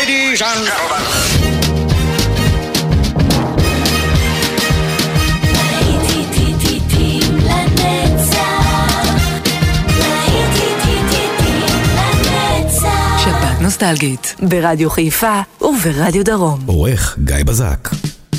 Ladies and gentlemen. שבת נוסטלגית ברדיו חיפה וברדיו דרום. עורך גיא בזק.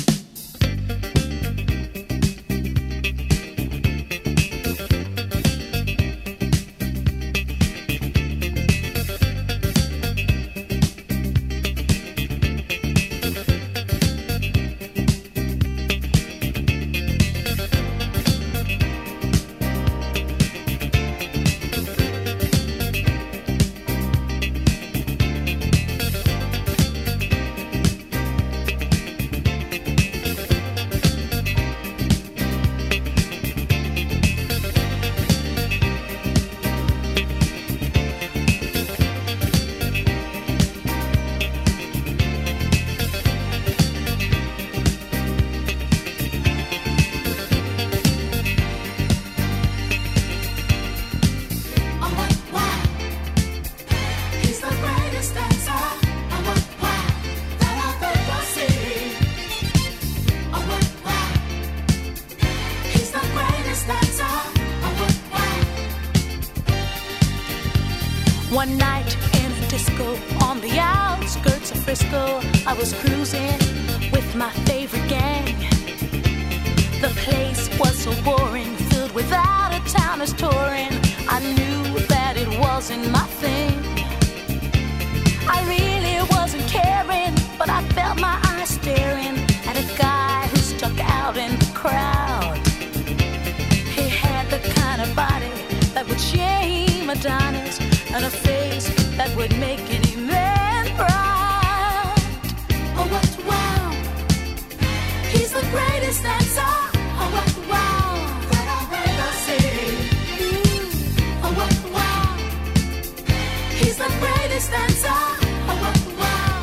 One night in a disco on the outskirts of Frisco, I was cruising with my favorite gang. The place was so boring, filled with out-of-towners touring. I knew that it wasn't my thing. I really wasn't caring, but I felt my eyes staring at a guy who stuck out in the crowd. He had the kind of body that would shame Adonis, and a face that would make any man proud. Oh, what wow! He's the greatest dancer. Oh, what wow! That I've ever seen. Oh, what wow! He's the greatest dancer. Oh, what wow!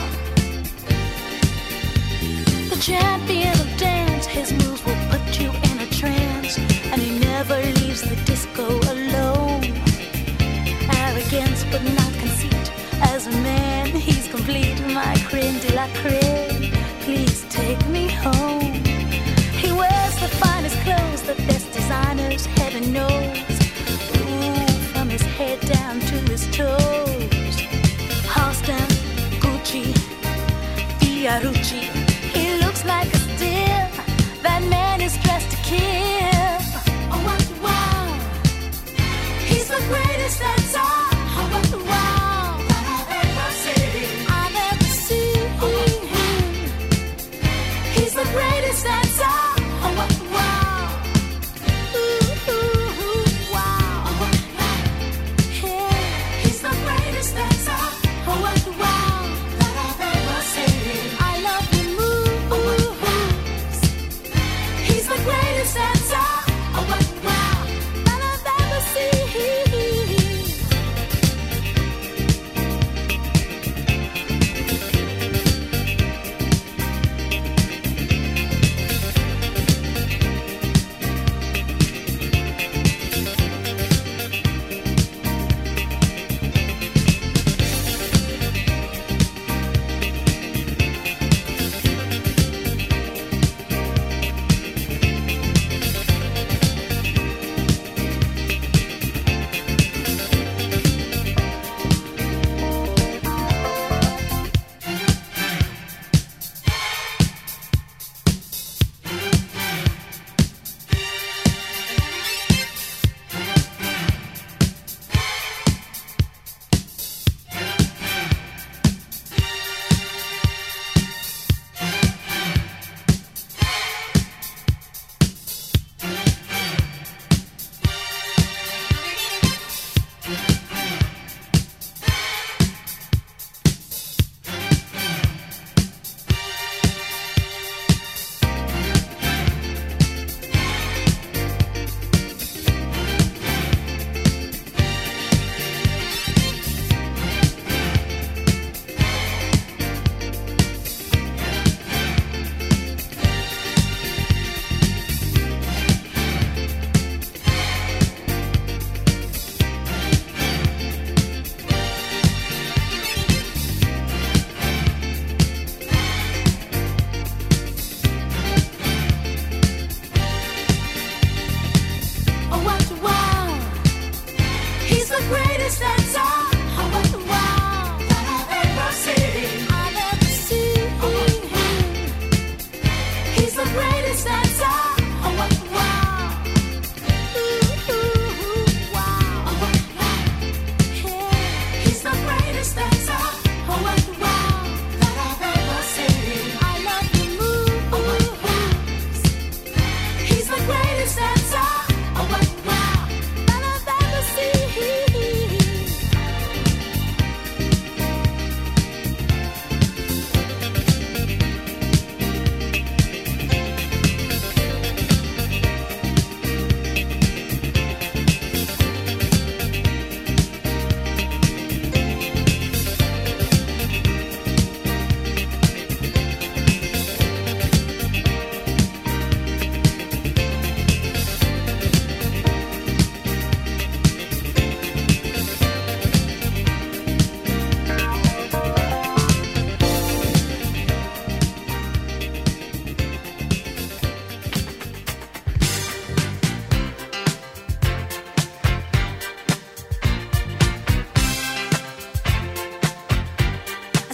The champion of dance, his moves will put you in a trance, and he never leaves the disco alone. Arrogance but not conceit. As a man, he's complete. My creme de la creme. Please take me home. He wears the finest clothes, the best designers, heaven knows. Ooh, from his head down to his toes. Halston, Gucci, Fiorucci. He looks like a steal. That man is dressed to kill. Oh, what wow! He's the greatest dancer. Oh, what wow! That I've ever seen. I've ever seen him. He's the greatest dancer. Oh, what wow! Ooh, ooh, ooh, wow! Oh, what wow! Yeah. He's the greatest dancer. Oh, what wow! That I've ever seen. I love him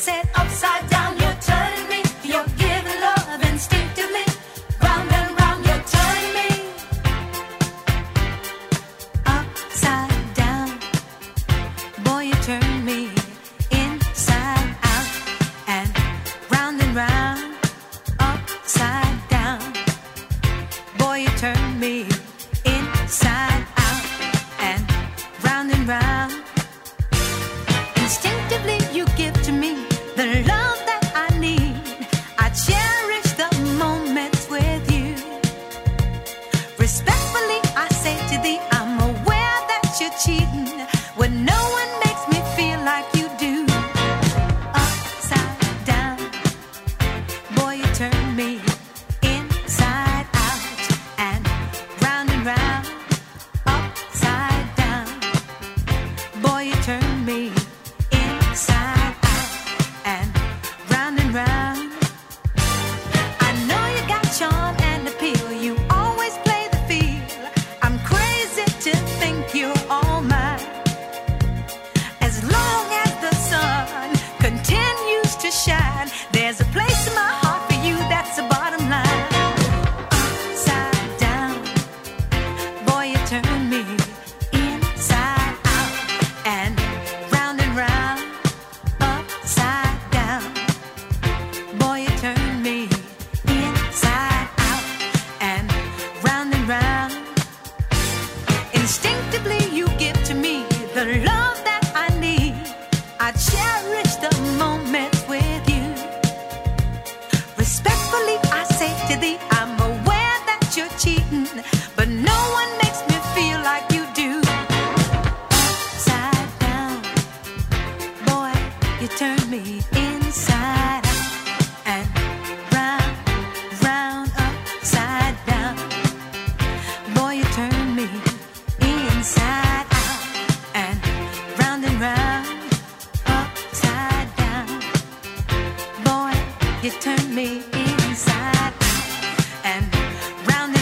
said upside down, you're turning me. You're giving love instinctively. Round and round, you're turning me. Upside down, boy, you turn me inside out and round upside down. Boy, you turn me inside out and round. Instinctively you give to me the love that I need. I cherish the moments with you. Respectfully I say to thee, I'm aware that you're cheating when no one makes me feel like you do. Upside down, boy, you turn me inside out and round. Upside down, boy, you turn me inside out and round. I know you got charm and appeal. You always play the field. I'm crazy to think you're all mine. As long as the sun continues to shine, there's a place in my heart for you. That's the bottom line. Upside down, boy, you turn me inside out and round. Upside down, boy, you turn me inside out and round. Instinctively you give to me the love that I need. I cherish the moments with you. Respectfully I say to thee, I'm aware that you're cheating, but no one makes me feel like you do. Upside down, boy, you turn me inside out and round. Upside down, boy, you turn me inside out and round. Upside down, boy, you turn me inside out and round.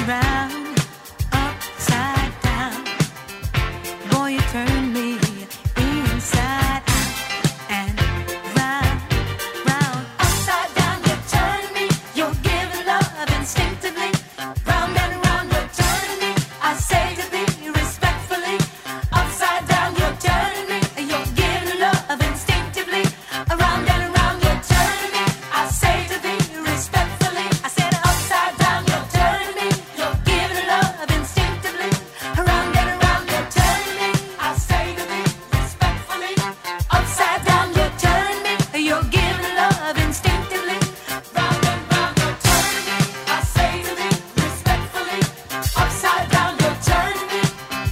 Upside down, boy, you turn me inside out and round. Upside down, you turn me. You're giving love instinctively. Round and round, you're turning me. I say to thee respectfully. Upside down, you're turning me. You're giving love instinctively. Around and around, you're turning me. I say to thee respectfully. I said upside down, you're turning me. You're giving love instinctively. Around and around, you're turning me. I say to thee respectfully. Upside down, you're turning me. You're giving love instinctively. Round and round, you're turning me. I say to thee respectfully. Upside down, you're turning me.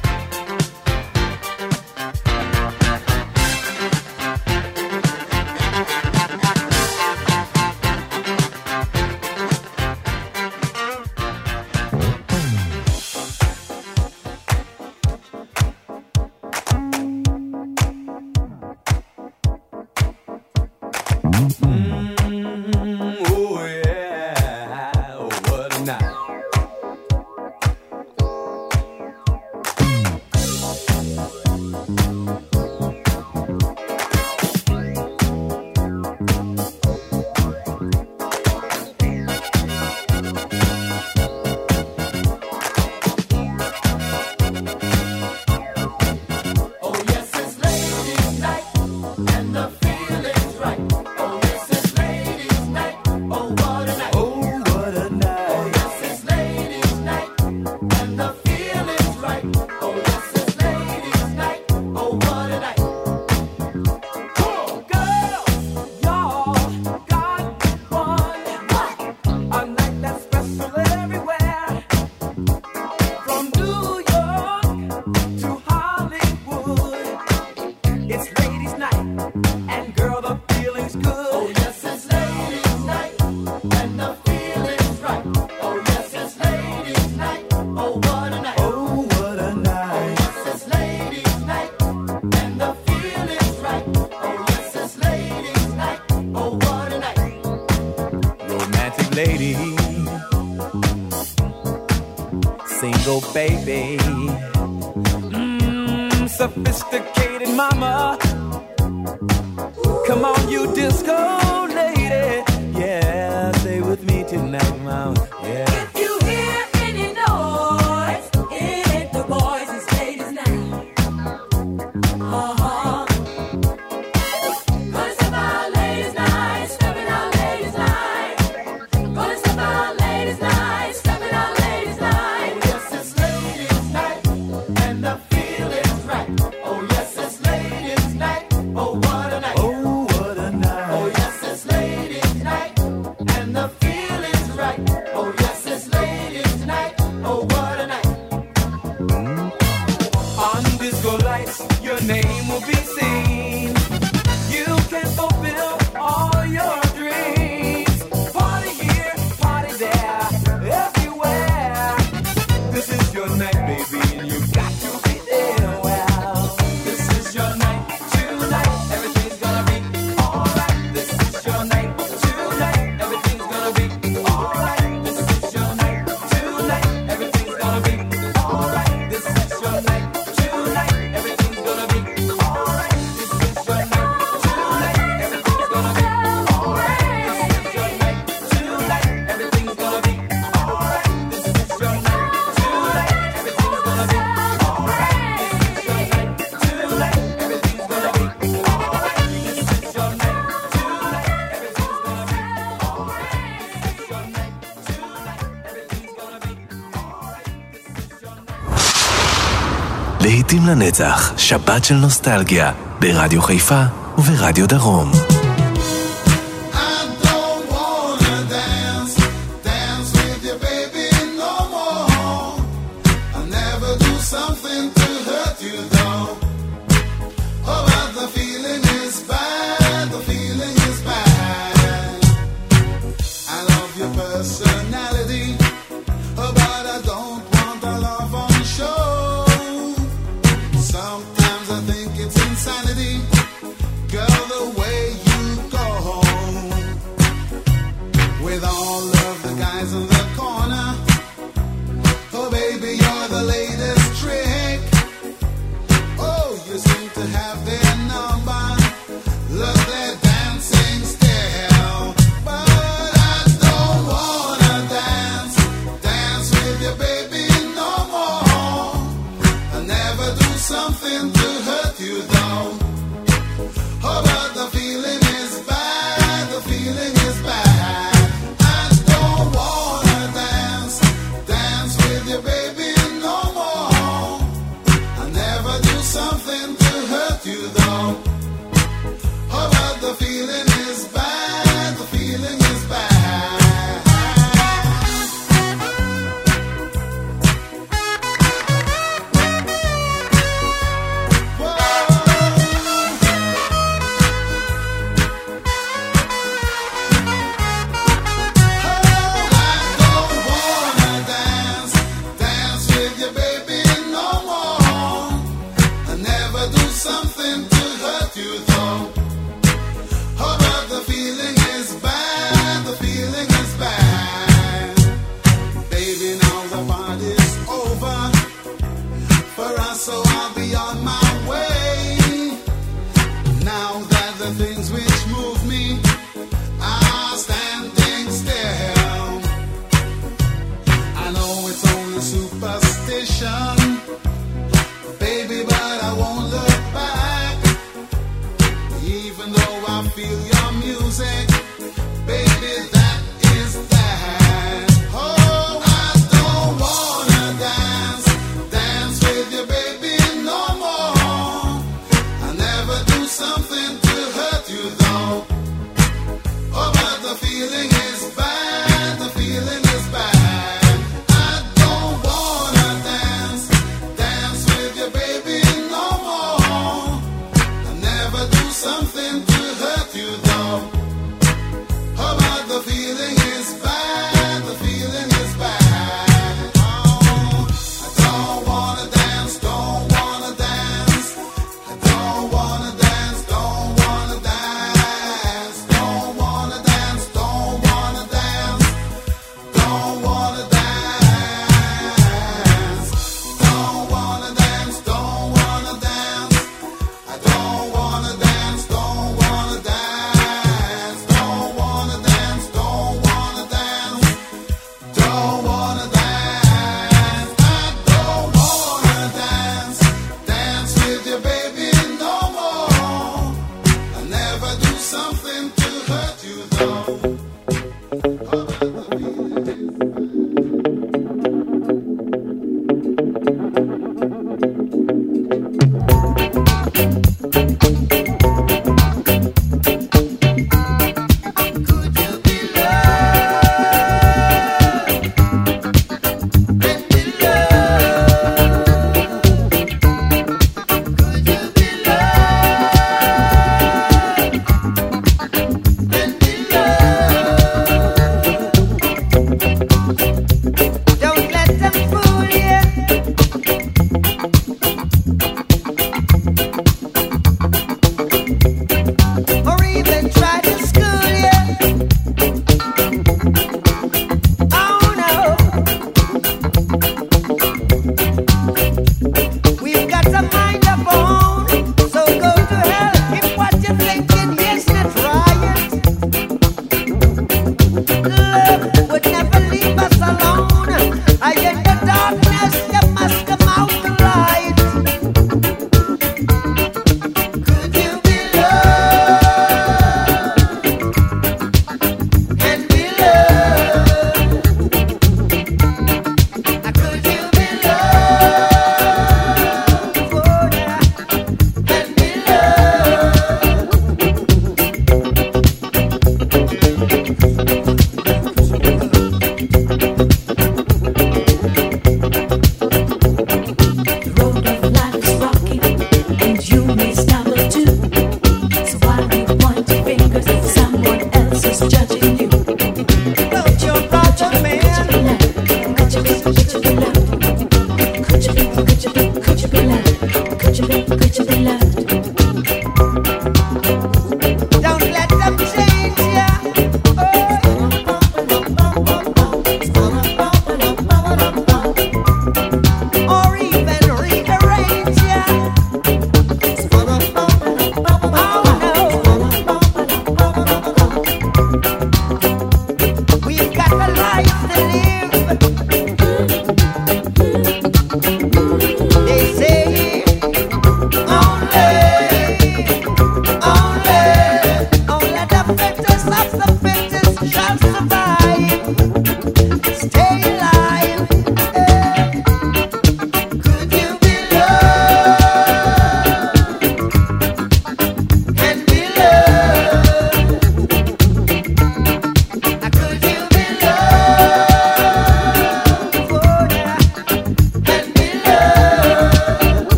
Oh yeah, oh, what a night. Oh yes, it's ladies' night and the feeling's right. Oh yes, it's ladies' night. Oh what a night. Oh what a night. Oh yes, it's ladies' night and the feeling's right. Oh yes, it's ladies' night. Oh what a night. Cool girls, y'all got one. A night that's special everywhere. From New York to Hollywood, it's ladies' night, and girl, the feeling's good. Oh yes, it's ladies' night, and the feeling's right. Oh yes, it's ladies' night. Oh what a night. Oh what a night. Oh yes, it's ladies' night, and the feeling's right. Oh yes, it's ladies' night. Oh what a night. Romantic lady, single baby, sophisticated mama. Come on, you disco lady. Yeah, stay with me tonight, mama. Yeah. If you hear any noise, it ain't the boys, it's ladies' night. Gonna step out ladies' night, stepping out ladies' night. Gonna step out ladies' night, stepping out ladies' night. Oh yes, it's ladies' night, and the feeling's right. Oh yes, it's ladies' night. Oh what a night. Oh, what a night. Oh yes, it's ladies' night, and the feeling's right. Oh yes, it's ladies' night. Oh what a night. On disco lights, your name will be seen. You can fulfill all your dreams. Party here, party there, everywhere. This is your night, baby, and you've got to be there. Well, This is your night tonight. Everything's gonna be alright. This is your night tonight. Everything's gonna be alright. This is your night tonight. Everything's gonna be alright. This is your night tonight. Everything's gonna be alright. This is your night tonight. Everything's gonna be alright. This is your night tonight. Everything's gonna be alright. This is your night tonight. Everything's gonna be alright. This is your night tonight. Everything's gonna be alright. This is your night tonight. Everything's gonna be alright. This is your night tonight. Everything's gonna be alright. This is your night. להיטים לנצח, שבת של נוסטלגיה, ברדיו חיפה וברדיו דרום. I don't wanna dance with you, baby, no more. I'll never do something to hurt you, though. Oh, but the feeling is bad, the feeling is bad. I love your personality, oh, but I don't want a love on show. Sometimes I think it's insanity, girl, the way you go with all of the guys in the corner. Oh baby, you're the latest trick. Oh, you seem to have their number. Look, they're dancing still. But I don't wanna dance with you, baby, no more. I'll never do something to hurt you, though. Oh, but the feeling is bad, the feeling is bad. I don't wanna dance with you, baby, no more. I'll never do something to hurt you, though. Oh, but the feeling is bad, the feeling is bad. Something to hurt you, though. Oh, but the feeling is bad, the feeling is bad. Baby, now the party's over for us, so I'll be on my way. Now that the things which move me are standing still. I know it's only superstition, baby, but I won't look back. Even though I feel your music, baby, that is that. Oh, I don't wanna dance with you, baby, no more. I'll never do something to hurt you, though. Oh, but the feeling is bad, the feeling is bad. I don't wanna dance with you, baby, no more. I'll never do something to hurt you, though.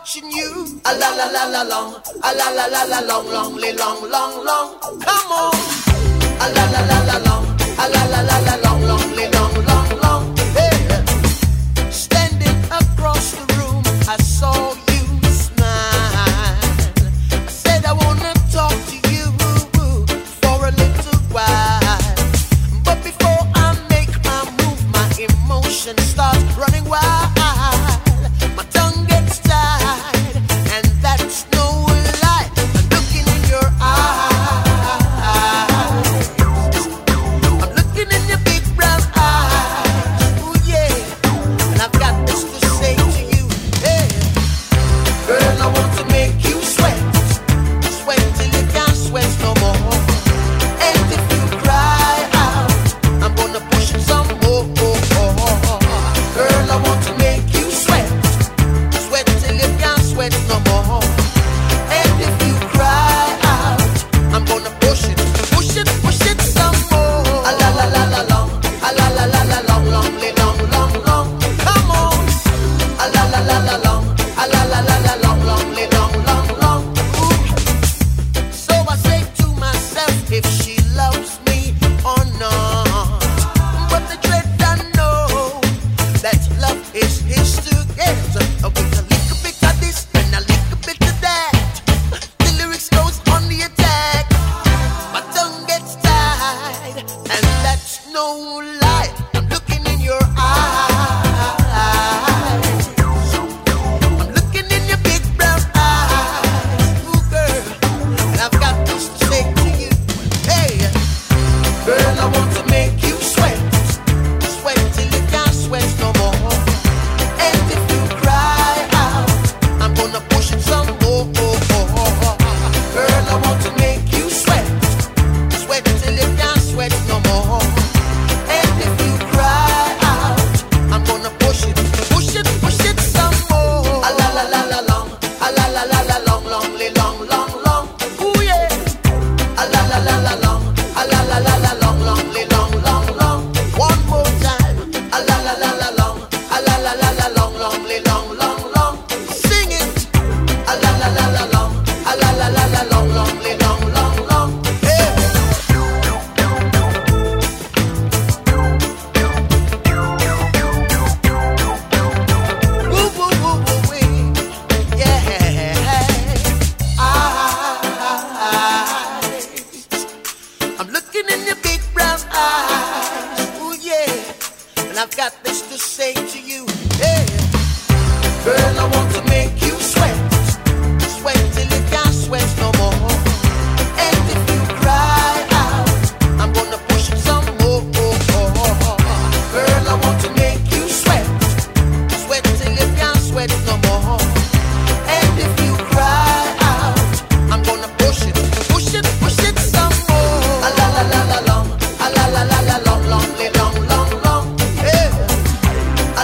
watching you. A la la la la long, a la la la la long, long, long, long, long. Come on. A la la la la long, a la la la la long, long, long, long, long. Hey. Standing across the room, I saw you smile. I said I wanna talk to you for a little while. But before I make my move, my emotions start running wild. My tongue gets tied, and that's no lie. I'm looking in your eyes. I'm looking in your big brown eyes. Ooh, yeah. And I've got this to say to you. Hey. Girl, I want to make you sweat. Sweat till you can't sweat no more. And if you cry out, I'm gonna push it some more. Girl, I want to make you sweat. Sweat till you can't sweat no more. And if you cry out, I'm gonna push it some more. A la la la la long, a la la la la long, long, long, long, long. Come on. A la la la la long, a la la la la long, long, long, long, long. Ooh. So I say to myself, if she loves me or not. But the dread I know that love is his to get. With a little bit of this and a little bit of that, the lyrics goes on the attack. My tongue gets tied, and that's no lie. I'm looking in your eyes. I'm looking in your big brown eyes. Ooh, girl, and I've got this to say to you. Hey, girl, I want to make you sweat. Sweat till you can't sweat no more. And if you cry out, I'm gonna push it some more. Girl, I want to make you sweat. Sweat till you can't sweat no more. And if you cry out, I'm gonna push it some more. A la la la la long, a la la la la long, long, long, long, long. Ooh yeah. A la la la la long, a la la la la long, long, long, long, long. One more time. A la la la la long, a la la la la long, long, long, long, long. Sing it. A la la la la long, a la la la la long, long, long, long, long. Hey. Woo woo woo woo wee. Yeah. I'm looking in your big brown eyes. Ooh yeah. And I've got this to say to you. Hey. Girl, I want to make you sweat. Sweat till you can't sweat no more. And if you cry out, I'm gonna push it some more. Girl, I want to make you sweat. Sweat till you can't sweat no more. And if you cry out, I'm gonna push it some more. A la la la la long, a la la la la long, long, long, long, long. Yeah. A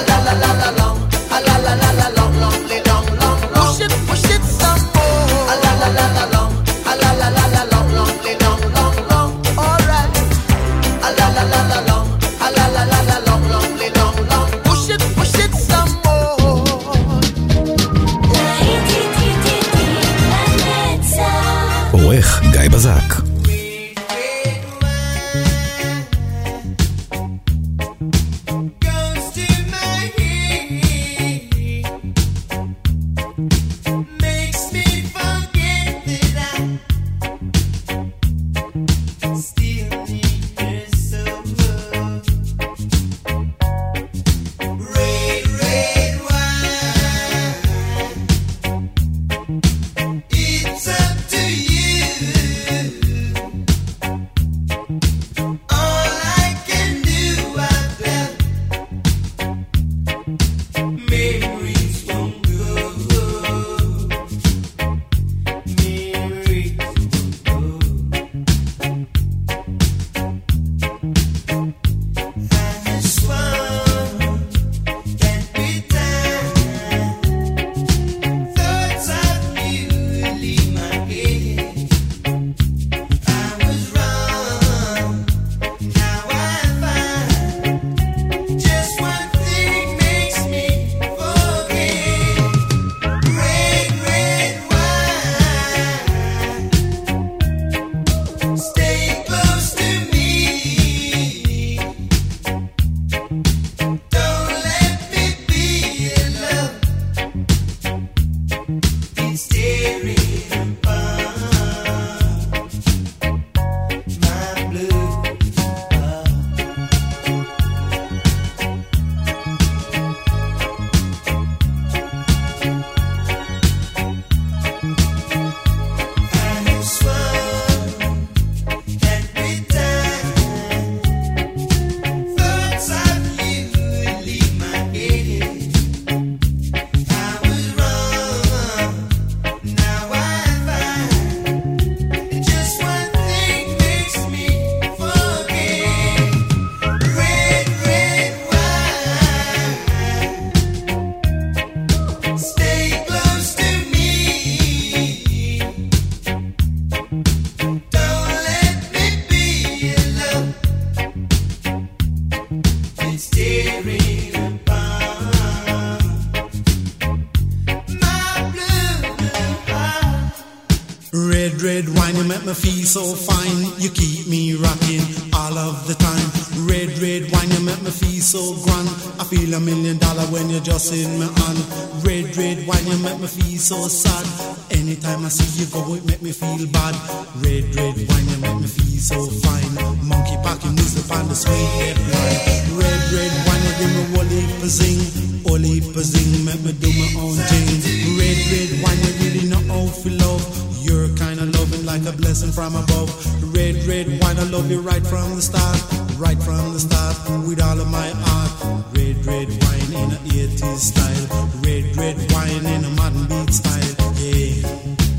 wine, you make me feel so fine. You keep me rocking all of the time. Red wine, you make me feel so grand. I feel $1 million when you're just in my hand. Red wine, you make me feel so sad. Anytime I see you go, it make me feel bad. Red wine, you make me feel so fine. Monkey packing music on the sweet red wine. Red wine, you give me whole heap of zing, make me do my own thing. Red wine, you really know how to love. You're kind of loving like a blessing from above. Red wine, I love you right from the start. Right from the start, with all of my heart. Red wine in a 80s style. Red wine in a modern beat style. Yeah.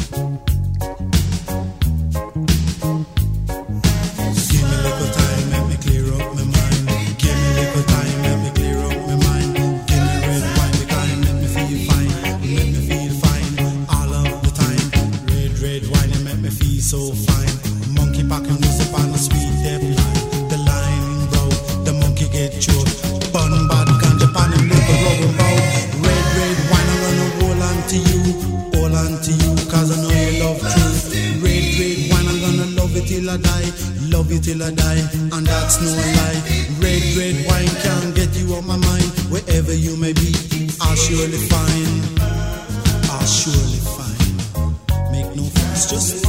Give me a little time, make me clear up my mind. Give me a little time, make me clear up my mind. Give me red wine, because it make me feel fine. Make me feel fine all of the time. Red wine, it make me feel so fine. Monkey packing music on the sweet death line. The line broke, the monkey get choked. Bun bad ganja pan and little rubber bow. Red wine, I'm gonna hold on to you, cause I know you love truth. Red wine, I'm gonna love you till I die. Love you till I die, and that's no lie. Red wine can't get you off my mind. Wherever you may be, I'll surely find. Make no fuss, just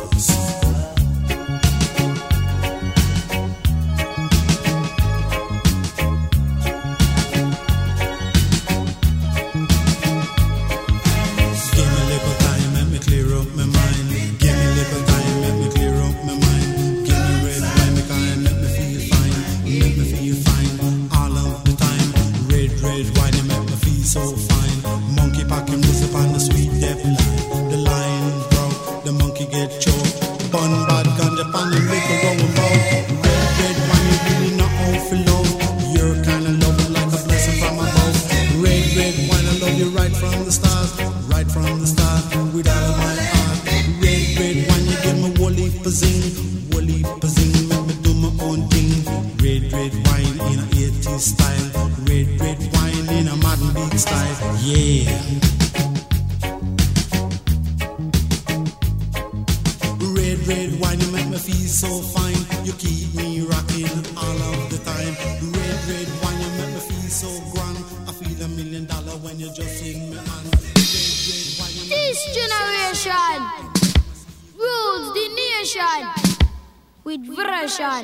so fine. Monkey packing music on the sweet death line. The line broke, the monkey get choked. Bun bad ganja pan and little going bow. Red wine, you really know how to love. You're kinda loving like a blessing from above. Red wine, I love you right from the start. Right from the start, with all of my heart. Red wine, you give me whole heap of zing. Make me do my own thing. Red wine in a 80s style. Red wine in a modern beat style. Yeah. Red wine, you make me feel so fine. You keep me rocking all of the time. Red wine, you make me feel so grand. I feel $1 million when you're just in my hand. Red wine, you This generation rules the nation with version.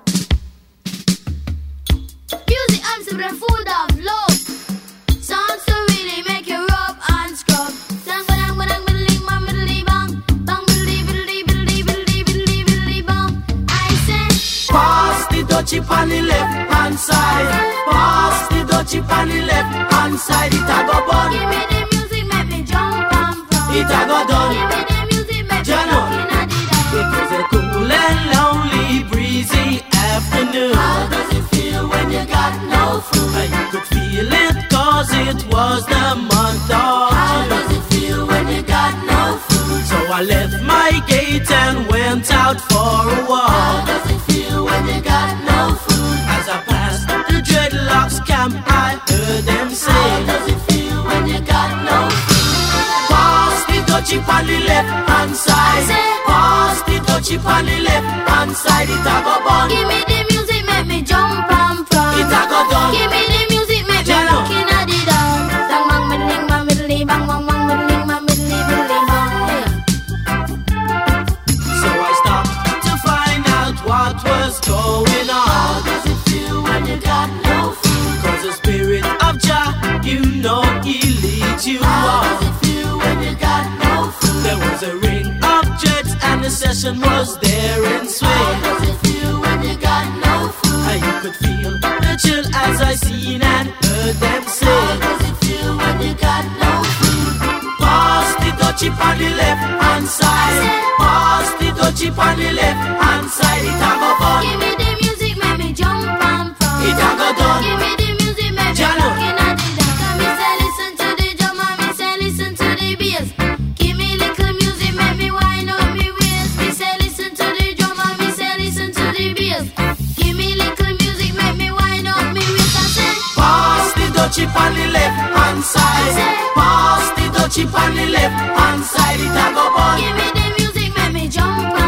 Music I'm super full of love. Songs to really make you rub and scrub. Dang badang badang biddly bang biddly bang bang biddly biddly biddly biddly biddly biddly bang. I say Pass the dutchie on the left hand side. Pass the dutchie on the left hand side. It a go bun. give me the music, make me jump and from. It a go done. Give me the music, make me Jano. looking at the down. It was a cool and lonely, breezy afternoon. How does it feel when you got no food? And you could feel it cause it was the month of How June. does it feel when you got no food? So I left my gate and went out for a How walk. does it feel when you got no food? As I passed the dreadlocks camp, I heard them How say, does it feel when you got no food? pass the dutchie on the left hand side. Pass the dutchie on the left hand side. It a go bun. Give me the music, make me jump and from. It a go done. Give me the music, make me Jano. looking at the down. Dang bang middling bang middly bang bang bang middling bang middly middly bang. So I stopped to find out what was going How on. does it feel when you got no food? Cause the spirit of Jah, you know he leads you How on. does it feel when you got no food? There was a ring of jets and the session was there in How swing. does it feel when you got no food? And you could feel the chill as I seen and heard them How say, does it feel when you got no food? pass the dutchie on the left hand side. Pass the dutchie on the left hand side. It a go bun. Give me the music, make me jump and from. It a go done. Give me the music, make me Jano. looking at the down. Me say listen to the drum and me say listen to the bass. Give me little music, make me wind up me waist. Me say listen to the drum and me say listen to the bass. Give me little music, make me wind up me waist. I say Pass the dutchie on the left hand side. Pass the dutchie on the left hand side. It a go bun. give me the music, make me jump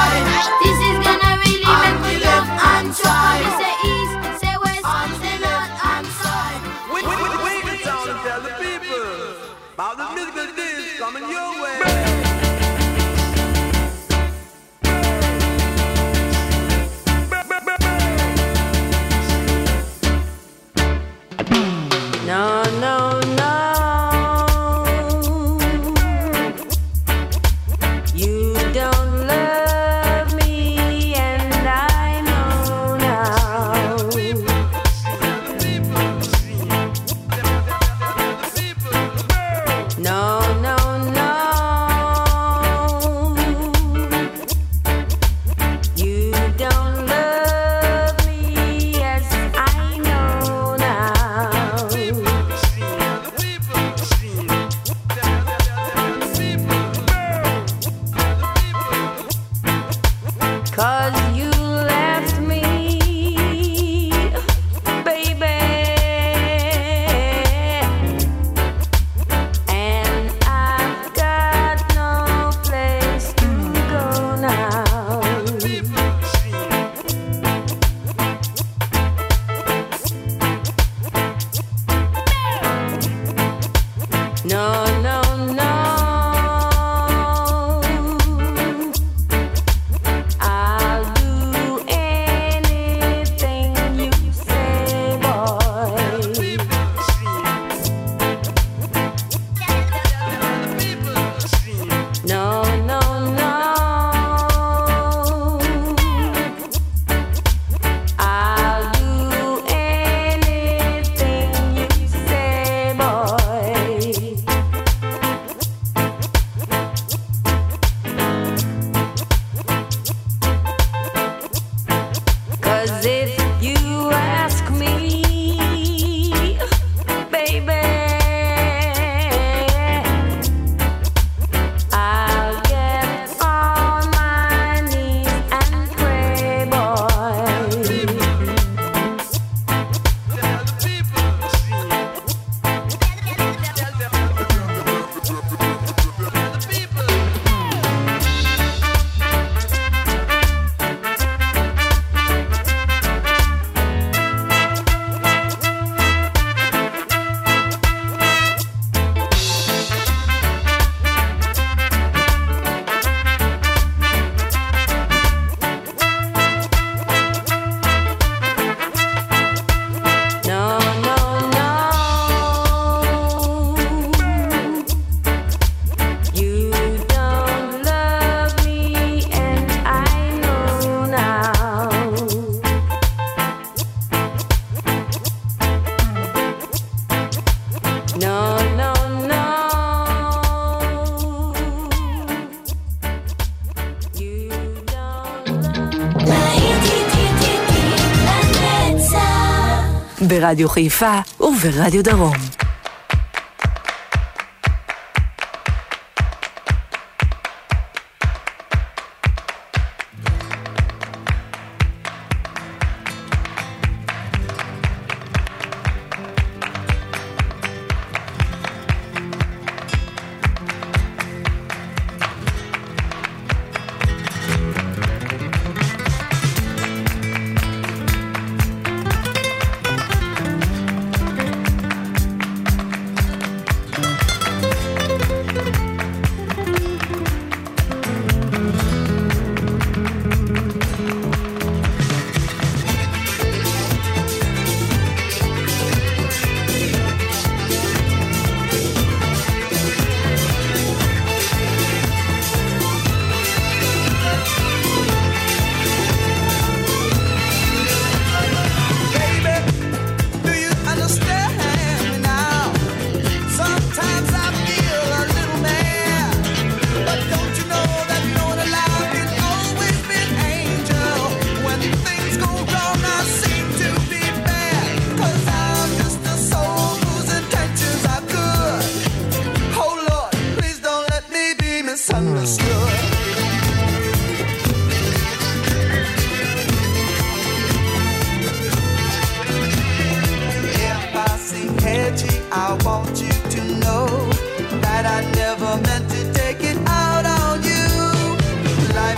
right. This is gonna really make me love and try. Me say east, say west, say north and south. Wait the town and tell the people about the musical disc coming your way. No, no, no. You don't love me, and I know now. No, no, no. You don't love me as I know now. 'Cause you left me, baby, and I've got no place to go now. No, no, no. I'll do anything you say, boy. No, no, no. I'll do anything you say, boy. 'Cause if you ask me, baby, I'll get on my knees and pray, boy. No, no, no. You don't love me, and I know now. No, no, no. You don't ברדיו חיפה וברדיו דרום. I want you to know that I never meant to take it out on you. Life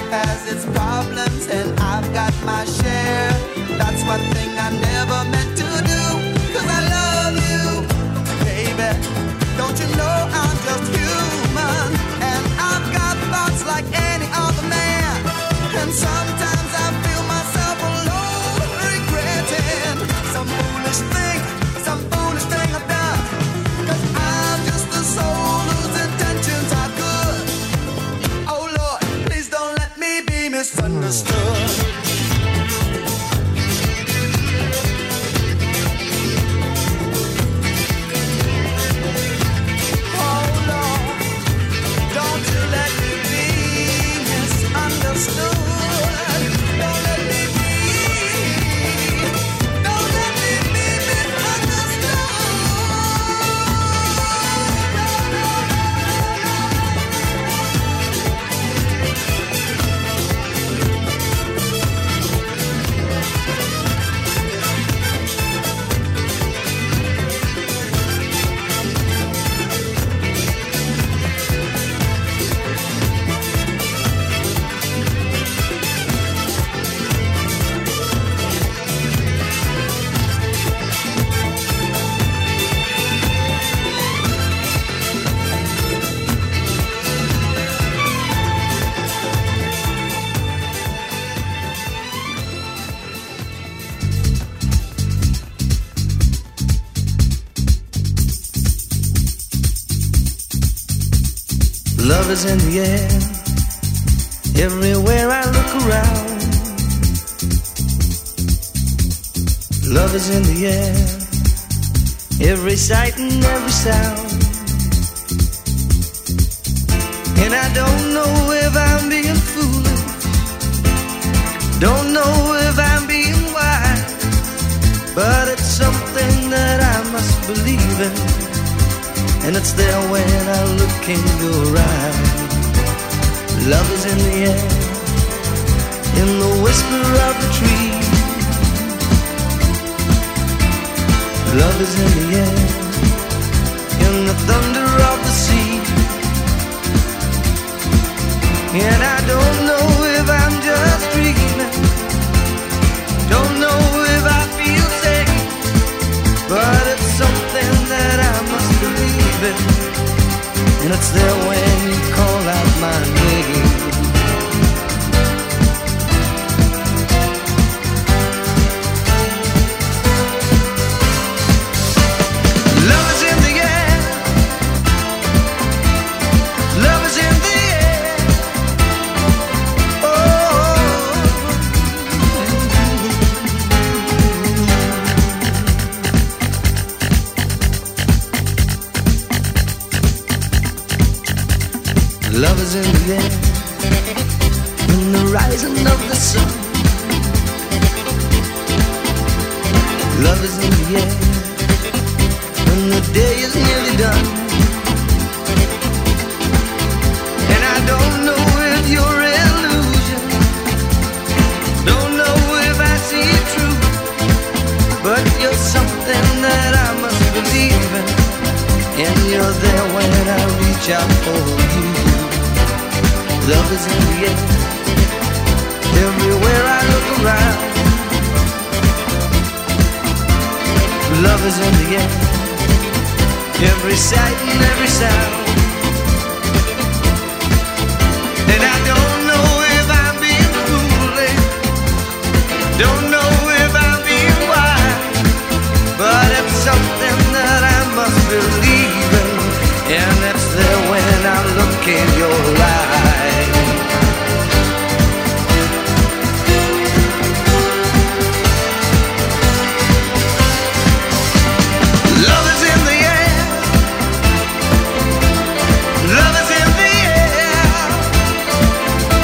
has its problems and I've got my share. That's one thing I never meant to do, 'cause I love you, baby. Don't you know I'm just human, and I've got thoughts like any other man. And sometimes I feel myself alone, regretting some foolish thing I've done. 'Cause I'm just a soul whose intentions are good. Oh Lord, please don't let me be misunderstood. Oh Lord, don't you let me be misunderstood. Don't let me be Love is in the air, everywhere I look around. Love is in the air, every sight and every sound. And I don't know if I'm being foolish, don't know if I'm being wise, but it's something that I must believe in. And it's there when I look in your eyes. Love is in the air, in the whisper of the tree. Love is in the air, in the thunder of the sea. And I don't know if I'm just dreaming, don't know if I feel safe, but it's something that I must believe in. And it's there when you call out my name. Love is in the air, love is in the air. Love is in the air, in the rising of the sun. Love is in the air, when the day is nearly done. And I don't know if you're illusion, don't know if I see it true, but you're something that I must believe in. And you're there when I reach out for you. Love is in the air, everywhere I look around. Love is in the air, every sight and every sound. And I don't know if I'm being foolish, don't know if I'm being wise, but it's something that I must believe in. And it's there when I look in your eyes. Love is in the air, love is in the air.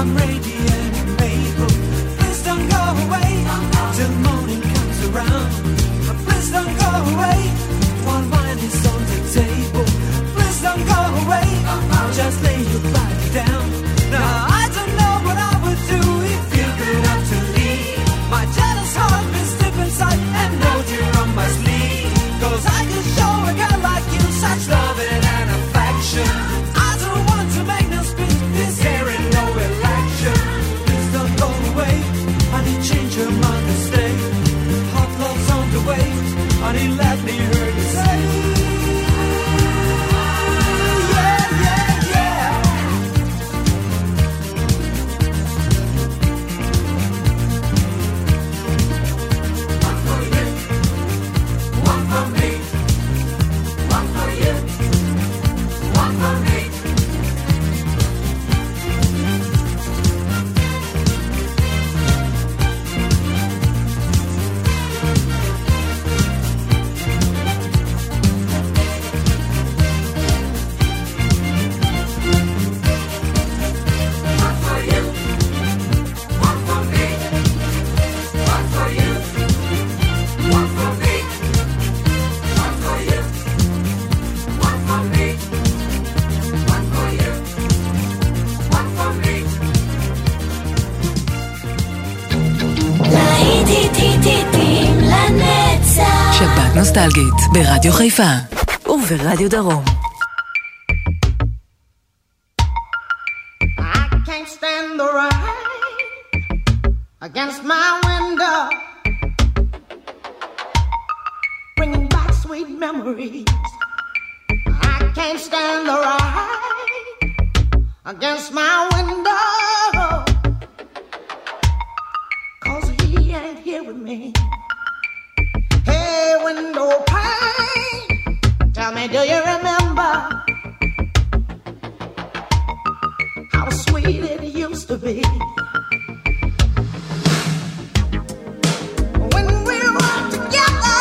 I'm radiant and able. Please don't go away till morning comes around. Please don't go away while wine is on the table. Please don't go away, just lay your body down. Now I don't know what I would do if you could have to leave. My jealous heart is deep inside and knows you're on my sleeve. 'Cause I could show a girl like you such loving and affection. I don't want to make no speech, this here ain't no election. Please don't go away, honey, change your mind and stay. Hot love's on the way, honey, let me hear you say. Yeah, yeah, yeah. One for you, one for me. One for you, one for me. One for you, one for me. One for you, one for me. One for you, one for me. One for you, one for me. להיטים לנצח. שבת נוסטלגית ברדיו חיפה וברדיו דרום. I can't stand the rain against my window, bringing back sweet memories. I can't stand the rain against my window, 'cause he ain't here with me. Hey, window pane, tell me, do you remember how sweet it used to be? When we were together,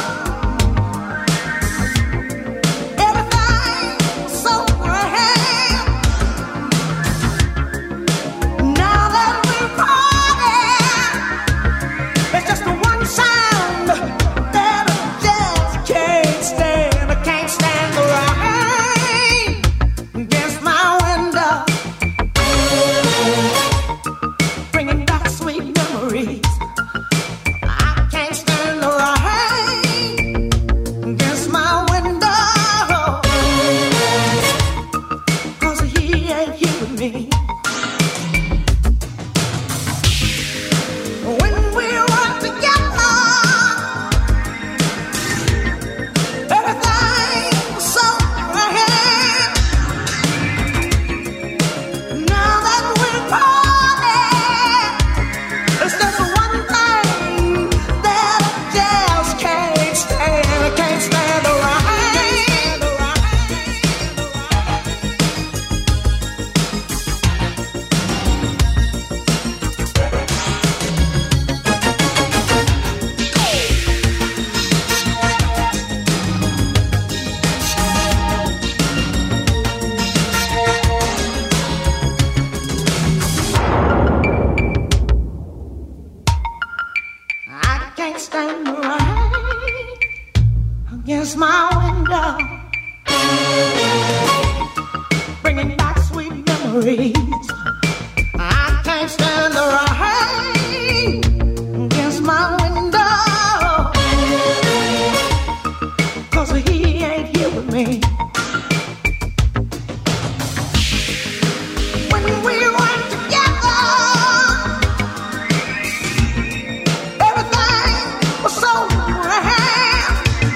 everything was so grand. Now that we're parted, it's just the one sound that I just can't stand. I can't stand the rain against my window, bringing back sweet memories. I can't stand the rain against my window, 'cause he ain't here with me. When we were together, everything was so grand. Now that we're parted, it's just one thing that I just can't stand. I can't stand the rain. I can't stand the rain against my window, bringing back sweet memories. I can't stand the rain against my window, 'cause he ain't here with me. When we were together, everything was so grand.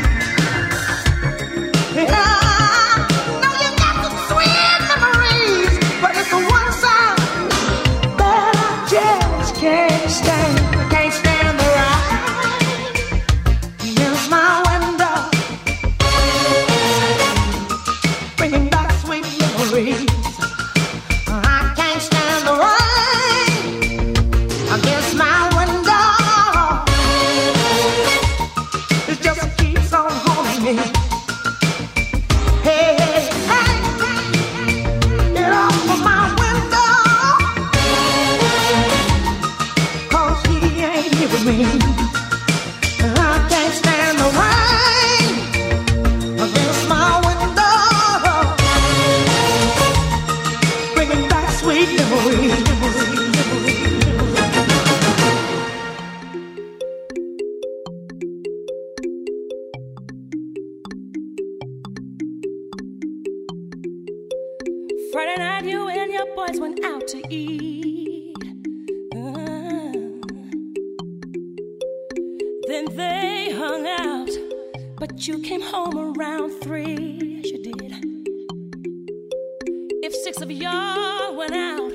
Yeah, now you got some sweet memories, but it's the one sound that I just can't stand. I can't stand the rain against my window, bringing back sweet memories. I can't stand Friday night, you and your boys went out to eat. Then they hung out, but you came home around 3. Yes, you did. If 6 of y'all went out,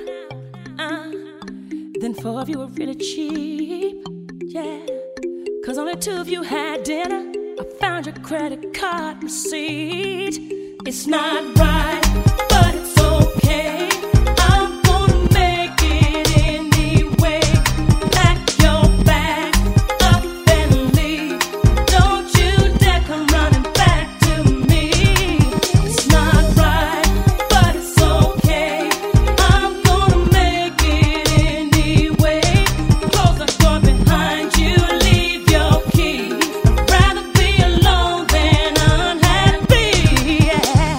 then 4 of you were really cheap. Yeah, 'cause only 2 of you had dinner. I found your credit card receipt. It's not right, but it's okay. I'm gonna make it anyway. Pack your bag up and leave. Don't you dare come running back to me. It's not right, but it's okay. I'm gonna make it anyway. Close the door behind you, leave your key. I'd rather be alone than unhappy. Yeah.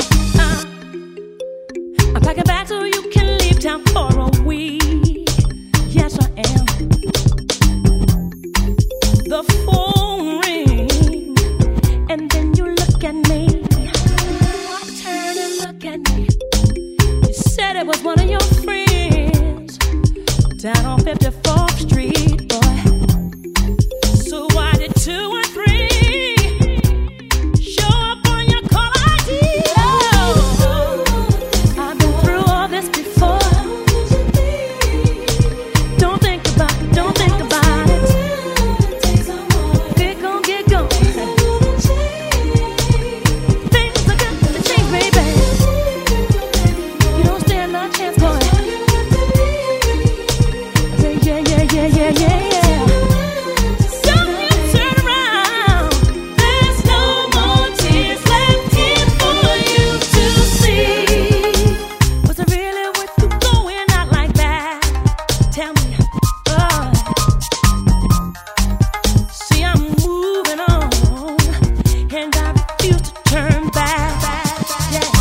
I'm packing back so you can leave town for a week. Yes, I am. The phone ring, and then you look at me. Turn and look at me. You said it was one of your friends down on 54th Street, boy. So why did 2 and 3 show up on your call ID? I've been through all this before. Don't think about it, don't think about it. Get gone, get gone. Things are gonna change, baby. You don't stand no chance, boy. I say, yeah, yeah, yeah, yeah, yeah, yeah. Don't you turn around. There's no more tears left here for you to see. Was it really worth you going out like that? Tell me. See, I'm moving on, and I refuse to turn back. Yeah.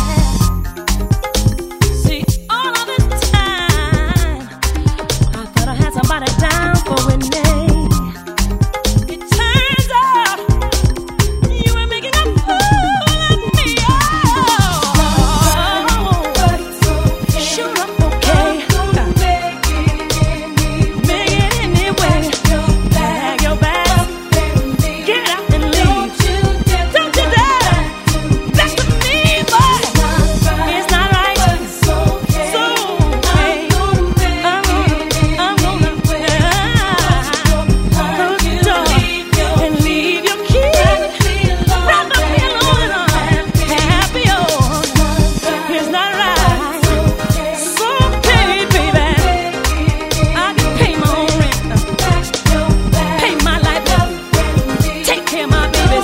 See, all of this time, I thought I had somebody down for Renee. It turns out you were making a fool of me. Sure, I'm okay. Make it anyway. Pack your bags, get out and leave. Don't you dare. That's to me, boy. It's not right. So okay. I'm gonna close the door and leave your key. Rather be alone and unhappy. It's not right. So okay, baby. I can pay my own rent, pay my light bill, take care of my babies.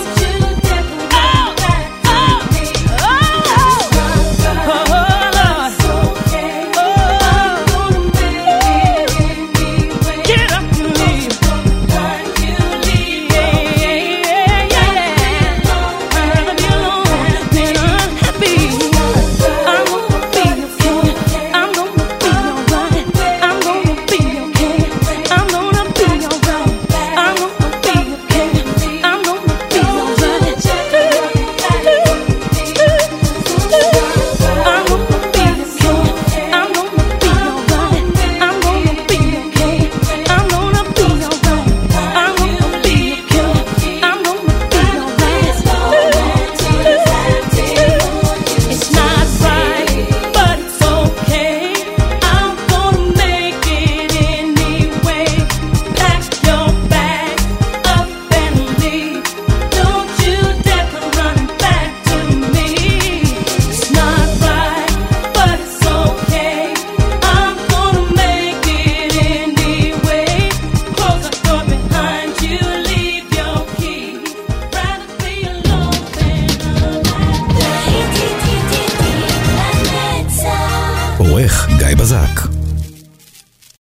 Get up and leave. I'd rather be alone than unhappy. I'm gonna be okay. I'm gonna be alright. I'm gonna be okay. I'm gonna be alright. I'm gonna be okay. I'm gonna be alright. I'm gonna be okay. I'm gonna be alright. I'm gonna be okay. I'm gonna be alright. I'm gonna be okay. I'm gonna be alright. It's not right, but it's okay. I'm gonna make it anyway. Pack your bag up and leave. Don't you dare come running back to me. It's not right, but it's okay. I'm gonna make it anyway. Close the door behind you, leave your key. Rather be alone than unhappy. עורך גיא בזק.